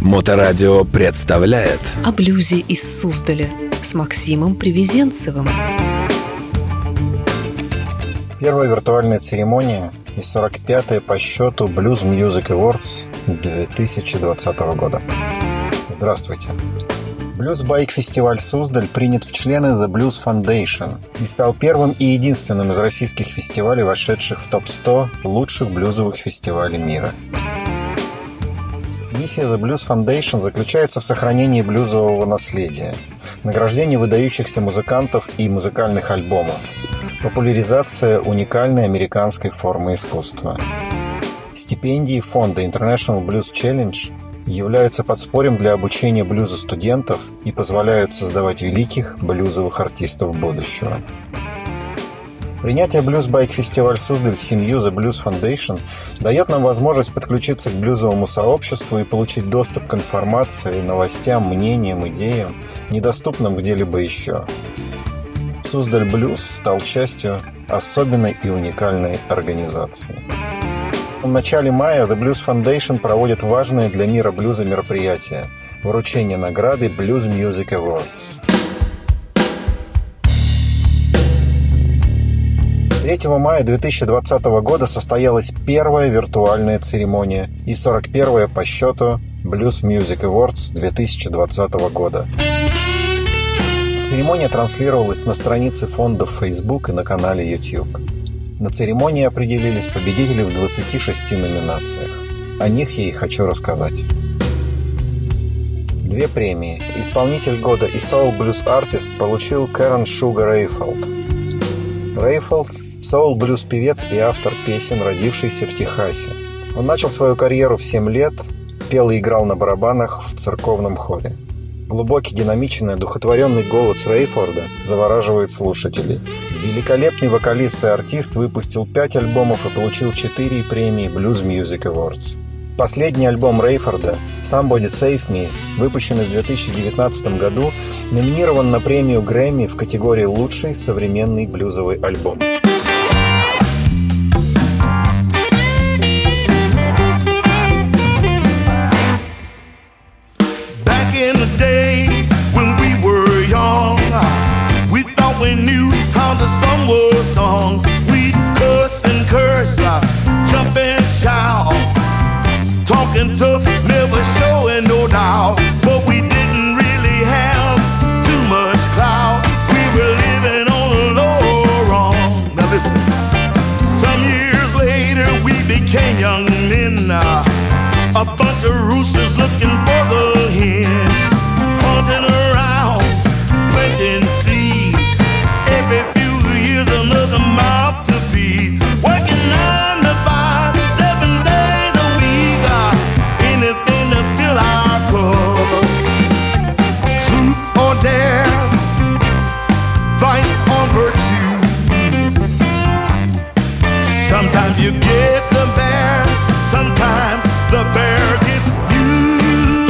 Моторадио представляет О блюзе из Суздаля с Максимом Привезенцевым. Первая виртуальная церемония и 45-я по счету Blues Music Awards 2020 года. Здравствуйте. Блюз-байк-фестиваль Суздаль принят в члены The Blues Foundation и стал первым и единственным из российских фестивалей, вошедших в топ-100 лучших блюзовых фестивалей мира. Миссия The Blues Foundation заключается в сохранении блюзового наследия, награждении выдающихся музыкантов и музыкальных альбомов, популяризация уникальной американской формы искусства. Стипендии фонда International Blues Challenge являются подспорьем для обучения блюзу студентов и позволяют создавать великих блюзовых артистов будущего. Принятие блюз-байк-фестиваль Суздаль в семью The Blues Foundation дает нам возможность подключиться к блюзовому сообществу и получить доступ к информации, новостям, мнениям, идеям, недоступным где-либо еще. Суздаль Блюз стал частью особенной и уникальной организации. В начале мая The Blues Foundation проводит важное для мира блюза мероприятие – вручение награды Blues Music Awards. 3 мая 2020 года состоялась первая виртуальная церемония и 41-я по счету Blues Music Awards 2020 года. Церемония транслировалась на странице фонда в Facebook и на канале YouTube. На церемонии определились победители в 26 номинациях. О них я и хочу рассказать. 2 премии. Исполнитель года и Soul Blues Artist получил Кэрон Шуга Рейфолд. Рейфолд – соул-блюз-певец и автор песен, родившийся в Техасе. Он начал свою карьеру в 7 лет, пел и играл на барабанах в церковном хоре. Глубокий, динамичный, одухотворенный голос Рейфорда завораживает слушателей. Великолепный вокалист и артист выпустил 5 альбомов и получил 4 премии Blues Music Awards. Последний альбом Рейфорда «Somebody Save Me», выпущенный в 2019 году, номинирован на премию Грэмми в категории «Лучший современный блюзовый альбом». We knew how the song was sung. We'd cuss and curse, jump and shout, talking tough, never showing no doubt. But we didn't really have too much clout. We were living on a low run. Now listen, some years later we became young men, a bunch of roosters looking for the hen, hunting around, planting seeds. Every few years another mouth to feed. Working 9 to 5, 7 days a week. Anything to fill our cups. Truth or dare, vice or virtue. Sometimes you get the bear, sometimes the bear gets you.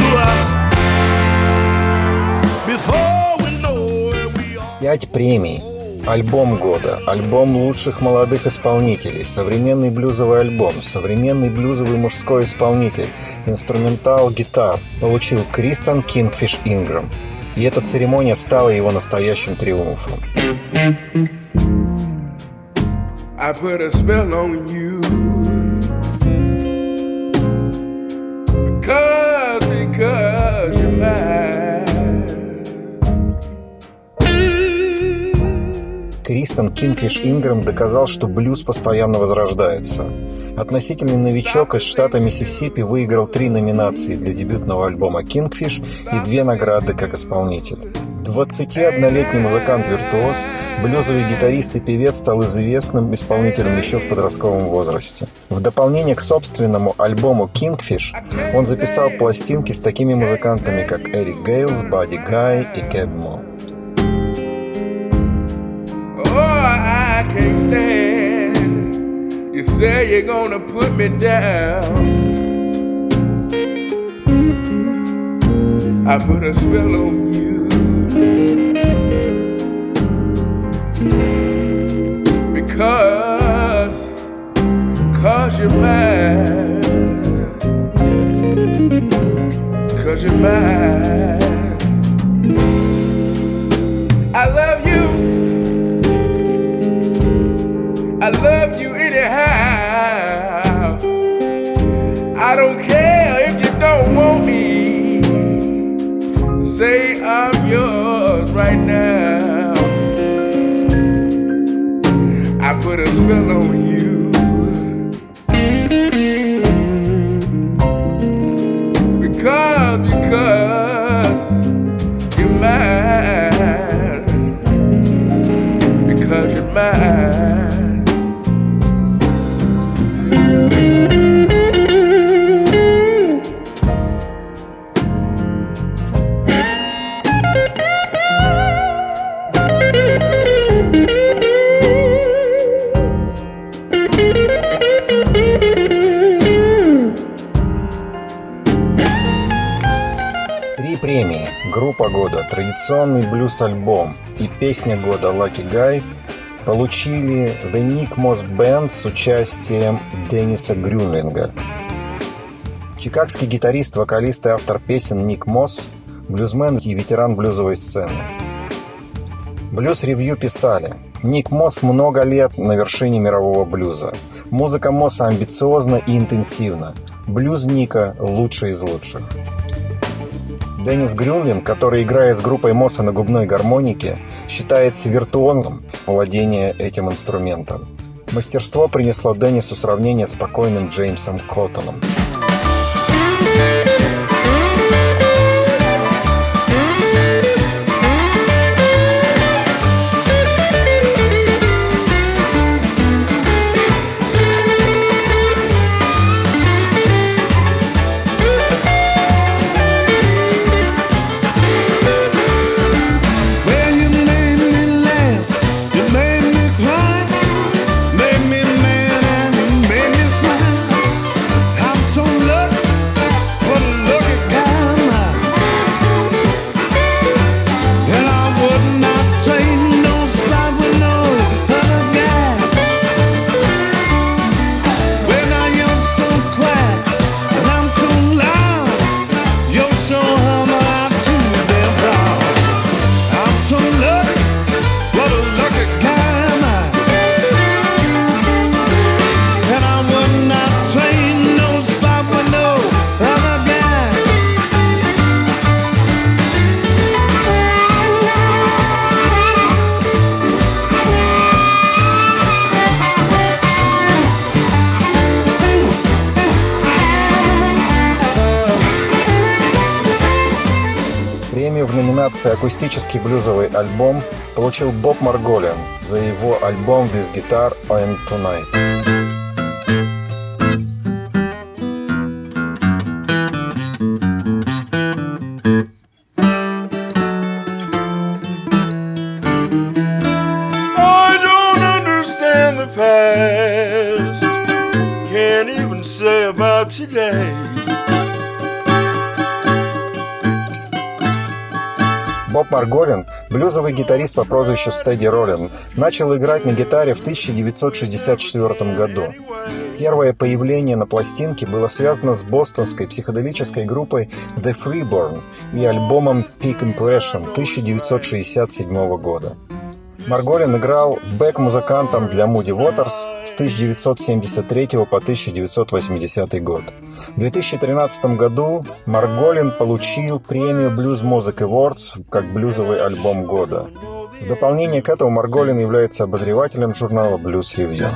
Before we know where we are. 5 премий. Альбом года, альбом лучших молодых исполнителей, современный блюзовый альбом, современный блюзовый мужской исполнитель, инструментал-гитар получил Кристен Кингфиш Ингрэм. И эта церемония стала его настоящим триумфом. I put a spell on you because you're mine. Кристен Кингфиш Ингрэм доказал, что блюз постоянно возрождается. Относительный новичок из штата Миссисипи выиграл 3 номинации для дебютного альбома «Кингфиш» и 2 награды как исполнитель. 21-летний музыкант-виртуоз, блюзовый гитарист и певец стал известным исполнителем еще в подростковом возрасте. В дополнение к собственному альбому «Кингфиш» он записал пластинки с такими музыкантами, как Эрик Гейлс, Бадди Гай и Кэб Мо. I can't stand. You say you're gonna put me down. I put a spell on you because you're mine. because you're mine. I love you. I love you anyhow. I don't care if you don't want me. Say I'm yours right now. I put a spell on you. Because you're mine. Because you're mine. 3 премии, группа года, традиционный блюз-альбом и песня года Lucky Guy получили The Nick Moss Band с участием Денниса Грюнлинга. Чикагский гитарист, вокалист и автор песен Ник Мосс, блюзмен и ветеран блюзовой сцены. Блюз-ревью писали: Ник Мосс много лет на вершине мирового блюза. Музыка Мосса амбициозна и интенсивна. Блюз Ника лучший из лучших. Деннис Грюнлинг, который играет с группой Мосса на губной гармонике, считается виртуозом владения этим инструментом. Мастерство принесло Деннису сравнение с покойным Джеймсом Коттоном. Премию в номинации «Акустический блюзовый альбом» получил Боб Марголин за его альбом «This Guitar and Tonight». I don't understand the past, can't even say about today. Боб Марголин, блюзовый гитарист по прозвищу Стеди Роллин, начал играть на гитаре в 1964 году. Первое появление на пластинке было связано с бостонской психоделической группой The Freeborn и альбомом Peak Impression 1967 года. Марголин играл бэк-музыкантом для Moody Waters с 1973 по 1980 год. В 2013 году Марголин получил премию Blues Music Awards как блюзовый альбом года. В дополнение к этому Марголин является обозревателем журнала Blues Review.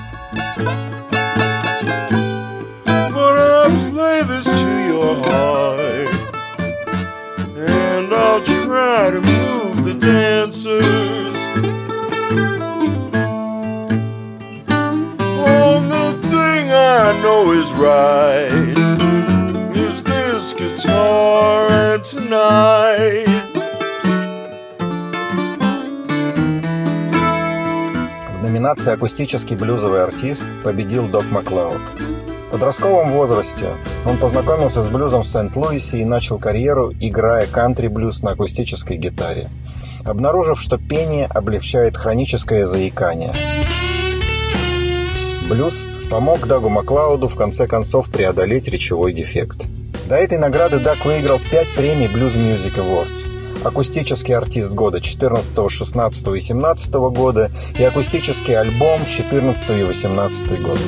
I know is right is this guitar and tonight. В номинации «Акустический блюзовый артист» победил Док Маклауд. В подростковом возрасте он познакомился с блюзом в Сент-Луисе и начал карьеру, играя кантри-блюз на акустической гитаре, обнаружив, что пение облегчает хроническое заикание. Блюз помог Дагу Маклауду в конце концов преодолеть речевой дефект. До этой награды Дак выиграл 5 премий Blues Music Awards. Акустический артист года 14, 16 и 17 года и акустический альбом 14 и 18 год.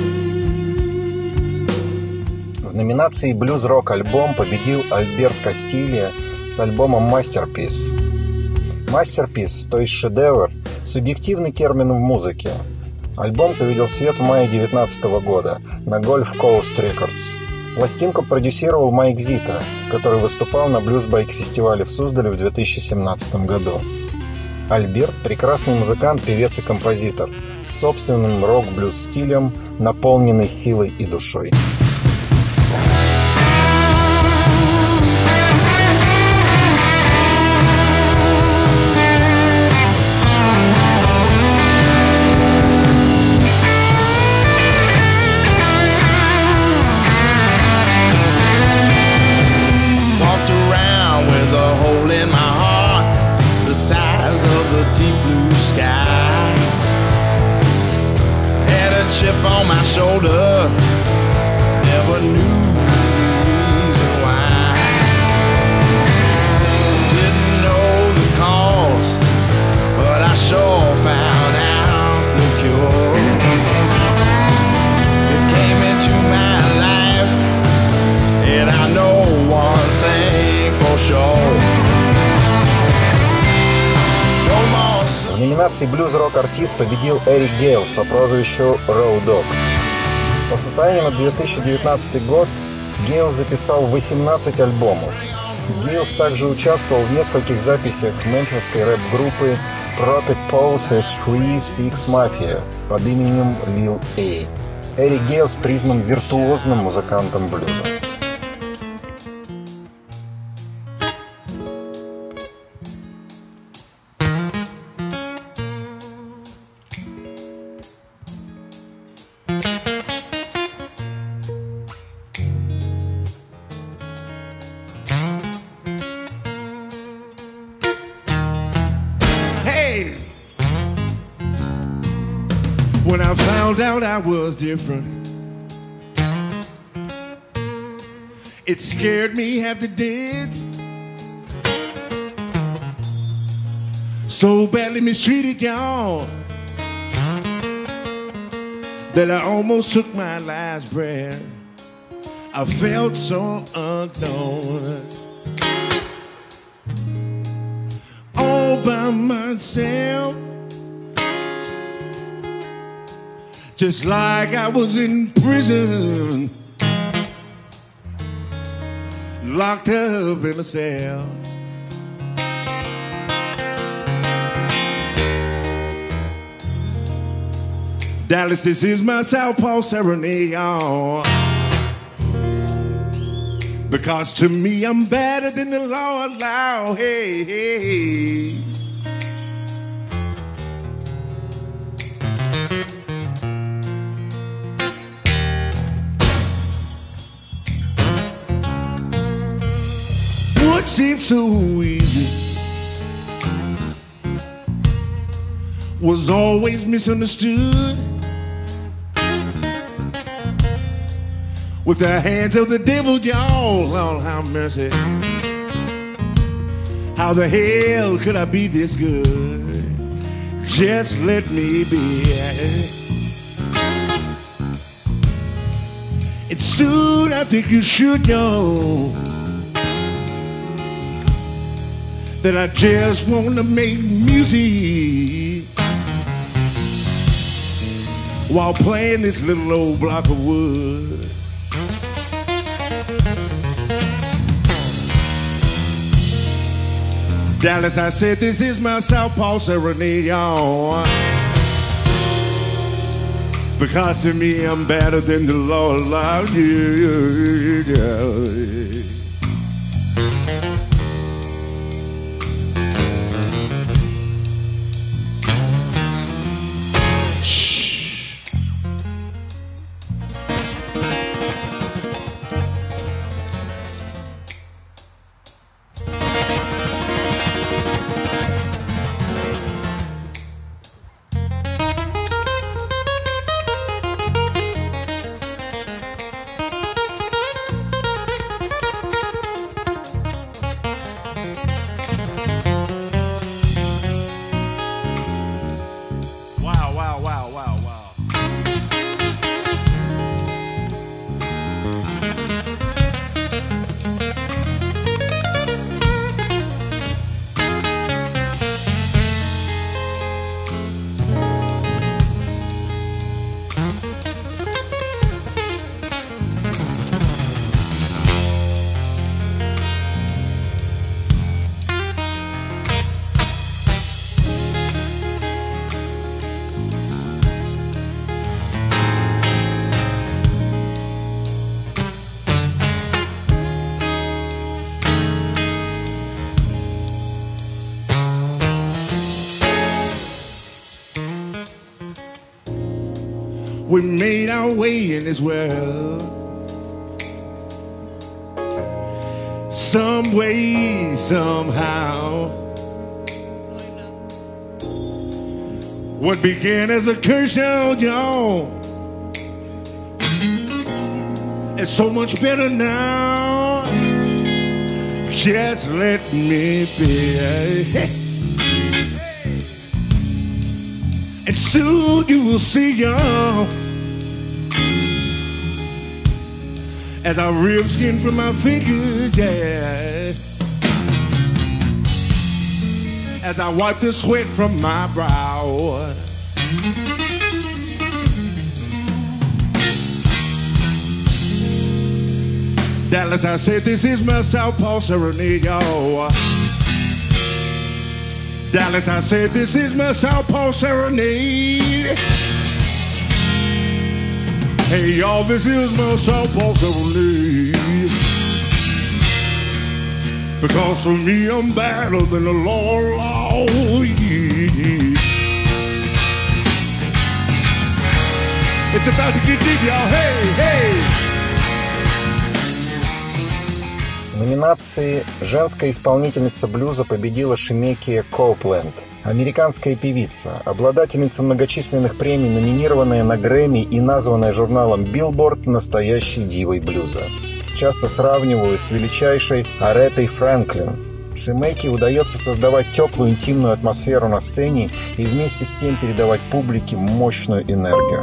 В номинации «Блюз-рок альбом» победил Альберт Кастилья с альбомом «Masterpiece». «Masterpiece», то есть шедевр, субъективный термин в музыке. Альбом увидел свет в мае 2019 года на Gulf Coast Records. Пластинку продюсировал Майк Зита, который выступал на блюз-байк-фестивале в Суздале в 2017 году. Альберт – прекрасный музыкант, певец и композитор с собственным рок-блюз-стилем, наполненный силой и душой. On my shoulder, never knew the reason why. Didn't know the cause, but I sure found out the cure. It came into my life, and I know one thing for sure. В номинации «Блюз-рок-артист» победил Эрик Гейлс по прозвищу Road Dogg. По состоянию на 2019 год Гейлс записал 18 альбомов. Гейлс также участвовал в нескольких записях мемфисской рэп-группы Protect Poses 3-6 Mafia под именем Lil A. Эрик Гейлс признан виртуозным музыкантом блюза. When I found out I was different, it scared me half to death. So badly mistreated, y'all, that I almost took my last breath. I felt so unknown, all by myself. Just like I was in prison, locked up in a cell. Dallas, this is my Southpaw serenade, y'all. Because to me I'm better than the law allow. Hey, hey. What seemed so easy was always misunderstood. With the hands of the devil, y'all, Lord have mercy. How the hell could I be this good? Just let me be. And soon I think you should know that I just wanna make music while playing this little old block of wood. Dallas, I said, this is my Southpaw serenade, y'all. Because to me, I'm better than the law allowed you. we made our way in this world. Some way, somehow. What began as a curse on y'all, it's so much better now. Just let me be. And soon you will see y'all as I rip skin from my fingers, yeah. As I wipe the sweat from my brow. Dallas, I said this is my Southpaw Serenade, y'all. Dallas, I said this is my Southpaw Serenade. Hey, y'all, this is my Southpaw Serenade. Because for me, I'm better than the law, yeah. It's about to get deep, y'all. Hey, hey. В номинации «Женская исполнительница блюза» победила Шемекия Коупленд, американская певица, обладательница многочисленных премий, номинированная на Грэмми и названная журналом Billboard настоящей дивой блюза. Часто сравнивают с величайшей Аретой Фрэнклин. Шемекии удается создавать теплую интимную атмосферу на сцене и вместе с тем передавать публике мощную энергию.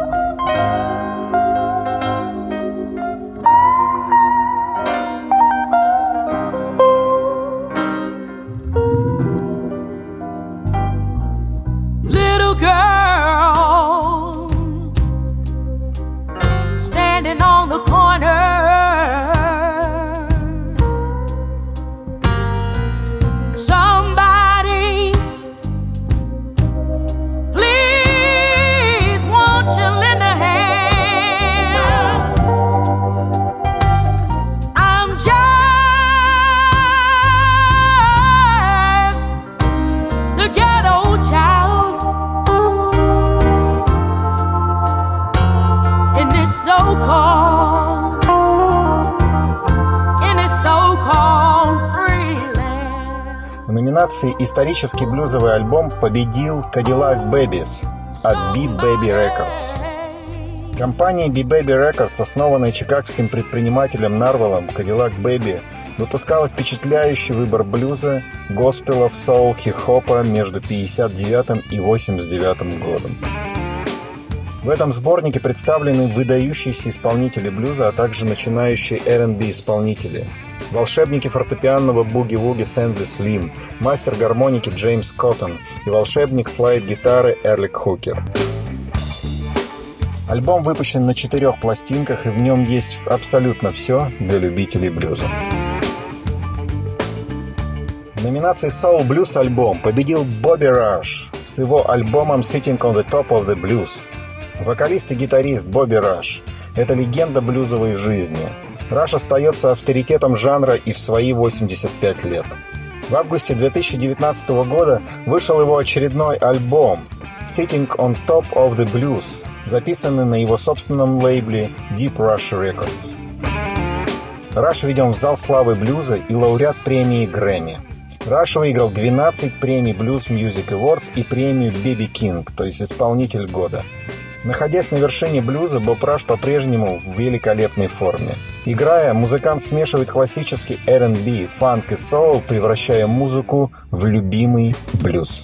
В номинации «Исторический блюзовый альбом» победил Cadillac Babies от B-Baby Records. Компания B-Baby Records, основанная чикагским предпринимателем Нарвелом, Cadillac Baby, выпускала впечатляющий выбор блюза, госпелов, соул, хип-хопа между 59 и 89 годом. В этом сборнике представлены выдающиеся исполнители блюза, а также начинающие R&B исполнители. Волшебники фортепианного буги-вуги Сэндли Слим, мастер гармоники Джеймс Коттон и волшебник слайд-гитары Эрлик Хукер. Альбом выпущен на 4 пластинках, и в нем есть абсолютно все для любителей блюза. В номинации Soul Blues альбом победил Бобби Раш с его альбомом Sitting on the Top of the Blues. Вокалист и гитарист Бобби Раш – это легенда блюзовой жизни. Раш остается авторитетом жанра и в свои 85 лет. В августе 2019 года вышел его очередной альбом «Sitting on Top of the Blues», записанный на его собственном лейбле Deep Rush Records. Раш введен в зал славы блюза и лауреат премии Грэмми. Раш выиграл 12 премий Blues Music Awards и премию BB King, то есть исполнитель года. Находясь на вершине блюза, Боб Раш по-прежнему в великолепной форме. Играя, музыкант смешивает классический R&B, фанк и соул, превращая музыку в любимый блюз.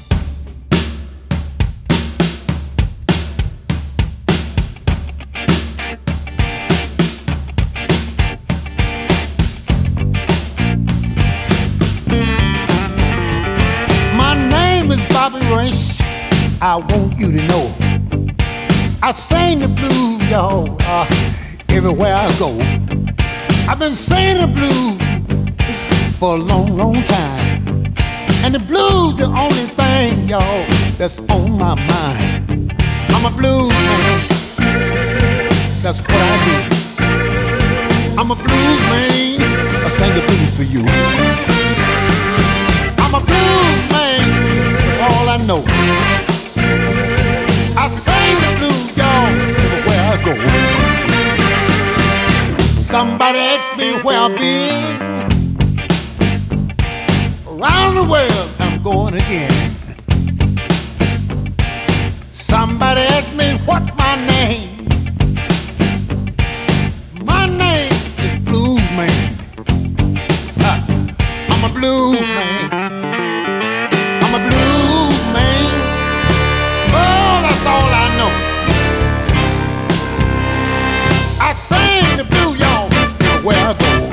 My name is Bobby Race. I want you to know I sing the blues, y'all, everywhere I go. I've been singing the blues for a long, long time. And the blues the only thing, y'all, that's on my mind. I'm a blues man, that's what I do. I'm a blues man, I sing the blues for you. I'm a blues man, that's all I know. I sing the blues, y'all, Somebody asked me where I've been. Around the world I'm going again. Somebody asked me what's my name. My name is Blues Man. I'm a blues man. I'm a blues man. Oh, that's all I know. I sing the blues, y'all, where I go.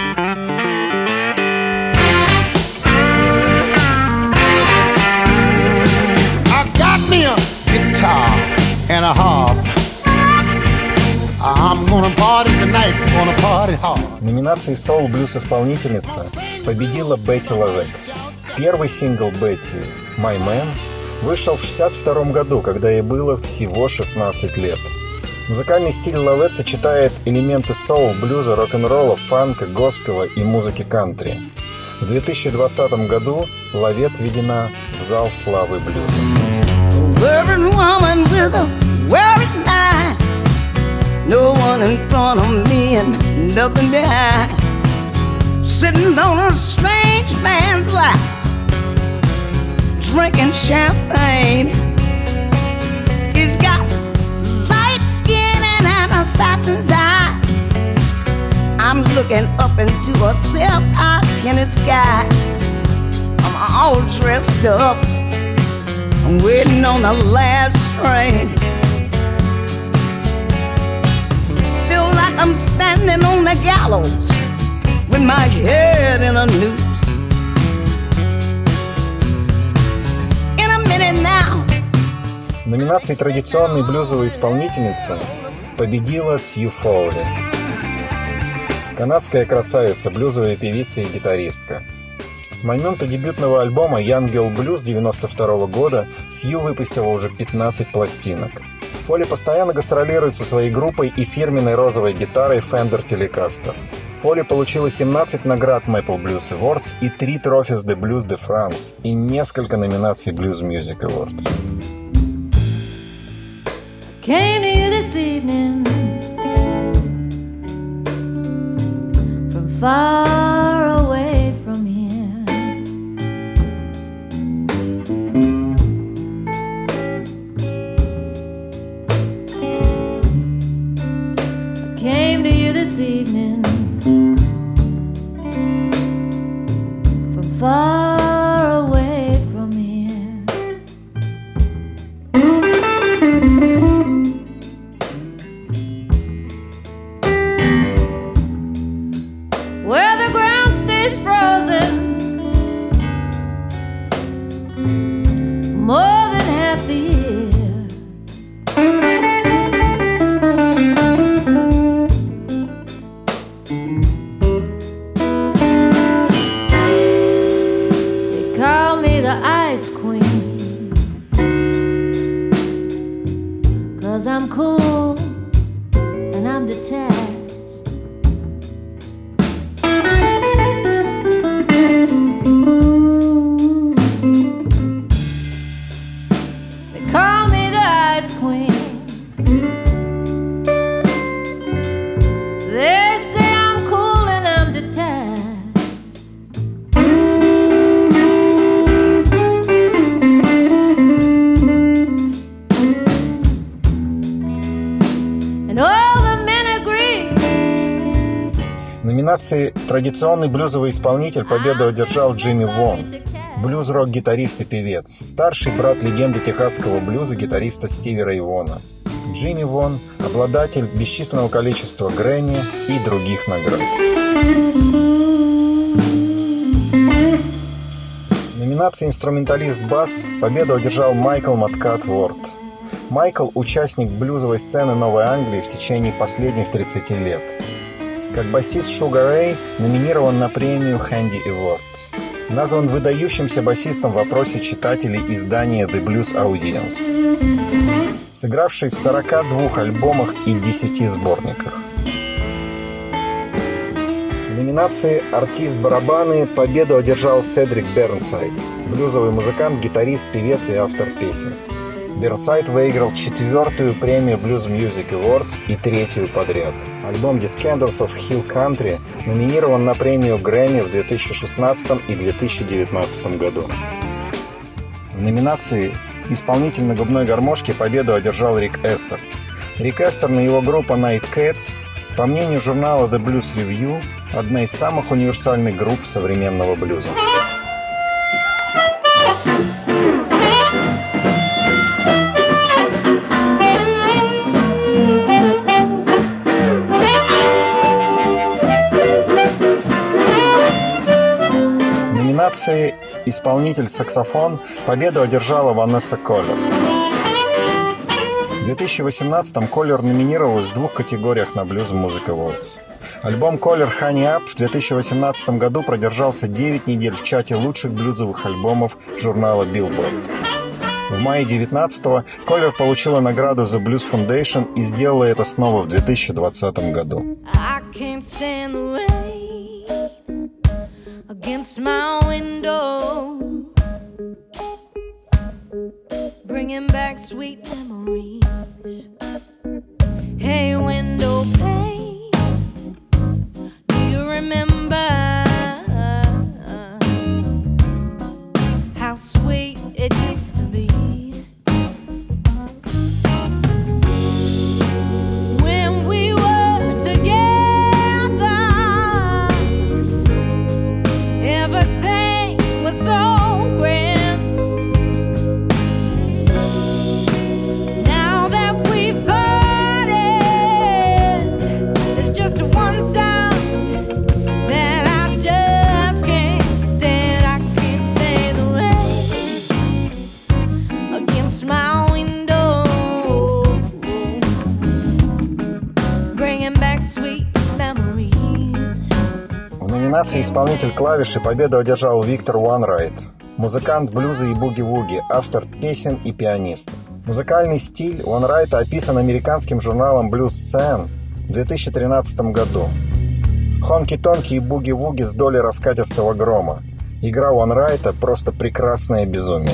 I got me a guitar and a harp. I'm gonna party tonight, gonna party hard. В номинации соул-блюз-исполнительница победила Бетти Лавет. Первый сингл Бетти «My Man» вышел в 1962 году, когда ей было всего 16 лет. Музыкальный стиль Лавет сочетает элементы соул, блюза, рок-н-ролла, фанка, госпела и музыки кантри. В 2020 году Лавет введена в зал славы блюза. No one in front of me and nothing behind. Sitting on a strange man's lap, drinking champagne. He's got light skin and an assassin's eye. I'm looking up into a silk-tinted sky. I'm all dressed up, I'm waiting on the last train. I'm standing on the gallows with my head in a noose. In a minute now. В номинации «Традиционной блюзовой исполнительницы» победила Сью Фоули. Канадская красавица, блюзовая певица и гитаристка. С момента дебютного альбома «Young Girl Blues» 1992 года Сью выпустила уже 15 пластинок. Фоли постоянно гастролирует со своей группой и фирменной розовой гитарой Fender Telecaster. Фоли получила 17 наград Maple Blues Awards и 3 Trophies de Blues de France и несколько номинаций Blues Music Awards. Came to you this evening from far away from here. Came to you this evening from far away from here. Where the ground stays frozen more than half the year. I'm cool and I'm detached. They call me the Ice Queen. They say I'm cool and I'm detached. В номинации «Традиционный блюзовый исполнитель» победу одержал Джимми Вон, блюз-рок-гитарист и певец, старший брат легенды техасского блюза гитариста Стиви Рэй Вона. Джимми Вон – обладатель бесчисленного количества Грэмми и других наград. В номинации «Инструменталист бас» победу одержал Майкл Маткат Уорд. Майкл – участник блюзовой сцены Новой Англии в течение последних 30 лет. Как басист Sugar Ray номинирован на премию Handy Awards. Назван выдающимся басистом в опросе читателей издания The Blues Audience. Сыгравший в 42 альбомах и 10 сборниках. В номинации «Артист барабаны» победу одержал Седрик Бернсайд, блюзовый музыкант, гитарист, певец и автор песен. Бернсайд выиграл 4-ю премию Blues Music Awards и 3-ю подряд. Альбом Descendants of Hill Country номинирован на премию Грэмми в 2016 и 2019 году. В номинации «Исполнитель на губной гармошке» победу одержал Рик Эстер. Рик Эстер и его группа Night Cats, по мнению журнала The Blues Review, одна из самых универсальных групп современного блюза. В номинации «Исполнитель-саксофон» победу одержала Ванесса Коллер. В 2018-м Коллер номинировалась в 2 категориях на Blues Music Awards. Альбом Коллер «Honey Up» в 2018 году продержался 9 недель в чате лучших блюзовых альбомов журнала Billboard. В мае 19-го Коллер получила награду The Blues Foundation и сделала это снова в 2020 году. Against my window, bringing back sweet memories. Hey, window pane, do you remember how sweet it used to be? When we were together, everything was so grand. Now that we've parted, there's just one sound that I just can't stand. I can't stand the rain against my window, bringing back sweet memories. В номинации «Исполнитель клавиши» победу одержал Виктор Уанрайт, музыкант блюза и буги-вуги, автор песен и пианист. Музыкальный стиль Уанрайта описан американским журналом Blues Scene в 2013 году. Хонки-тонки и буги-вуги с долей раскатистого грома. Игра Уанрайта просто прекрасное безумие.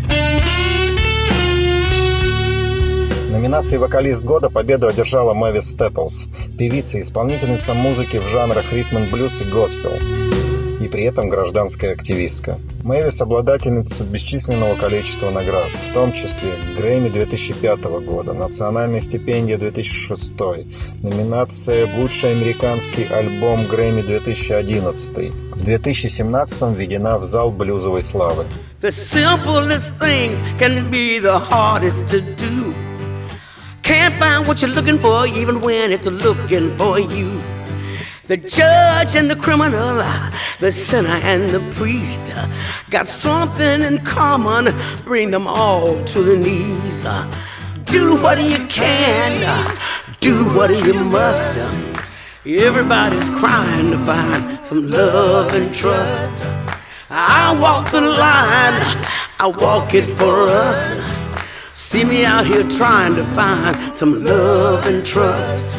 В номинации «Вокалист года» победу одержала Мэвис Степлс, певица и исполнительница музыки в жанрах ритм-н-блюз и госпел, и при этом гражданская активистка. Мэвис – обладательница бесчисленного количества наград, в том числе Грэмми 2005 года, национальная стипендия 2006, номинация в лучший американский альбом Грэмми 2011, в 2017 введена в зал блюзовой славы. The simplest things can be the hardest to do. Can't find what you're looking for even when it's looking for you. The judge and the criminal, the sinner and the priest got something in common, bring them all to the knees. Do what you can, do what you must. Everybody's crying to find some love and trust. I walk the line, I walk it for us. See me out here trying to find some love and trust.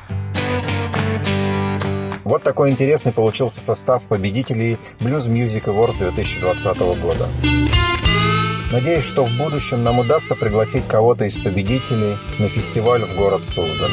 Вот такой интересный получился состав победителей Blues Music Awards 2020 года. Надеюсь, что в будущем нам удастся пригласить кого-то из победителей на фестиваль в город Суздаль.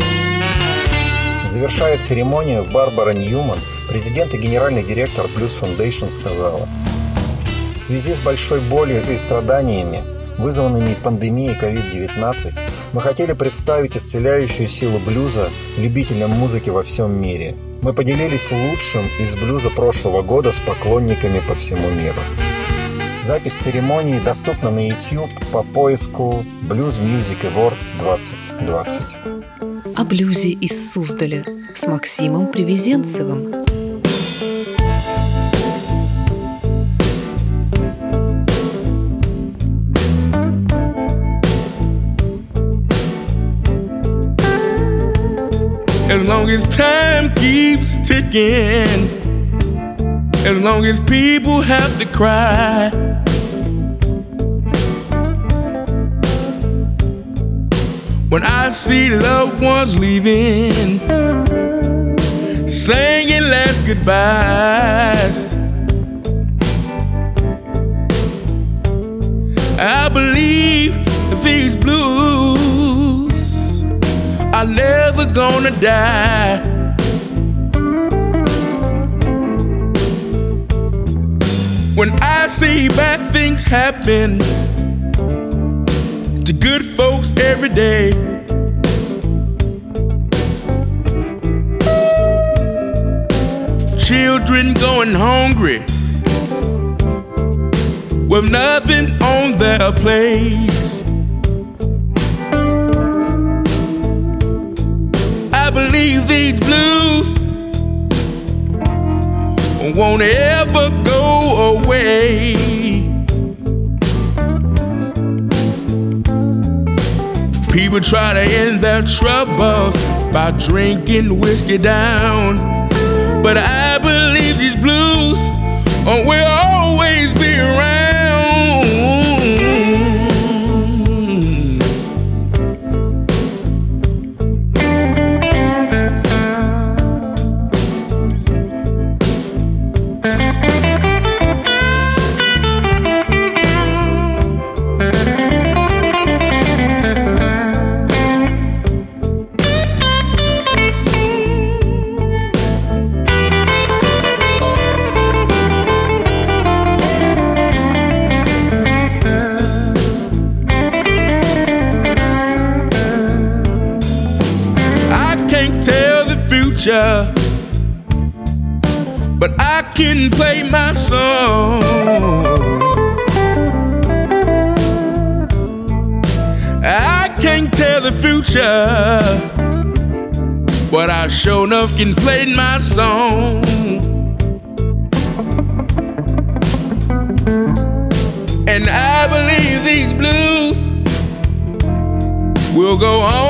Завершая церемонию, Барбара Ньюман, президент и генеральный директор Blues Foundation, сказала: «В связи с большой болью и страданиями, вызванными пандемией COVID-19, мы хотели представить исцеляющую силу блюза любителям музыки во всем мире. Мы поделились лучшим из блюза прошлого года с поклонниками по всему миру». Запись церемонии доступна на YouTube по поиску Blues Music Awards 2020. О блюзе из Суздаля с Максимом Привезенцевым. As long as time keeps ticking, as long as people have to cry, when I see loved ones leaving, singing last goodbyes, I believe these blues are never gonna die. When I see bad things happen to good folks every day, children going hungry with nothing on their plates, I believe these blues won't ever go away. People try to end their troubles by drinking whiskey down, but I believe these blues will always be around. But I can play my song. I can't tell the future, but I sure enough can play my song. And I believe these blues will go on